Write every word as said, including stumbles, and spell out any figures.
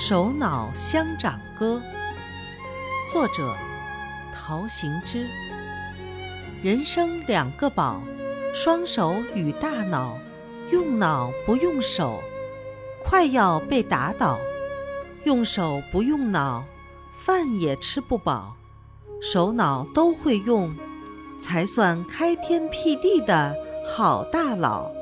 手脑相长歌》，作者陶行知。人生两个宝，双手与大脑，用脑不用手，快要被打倒；用手不用脑，饭也吃不饱。手脑都会用，才算开天辟地的好大佬。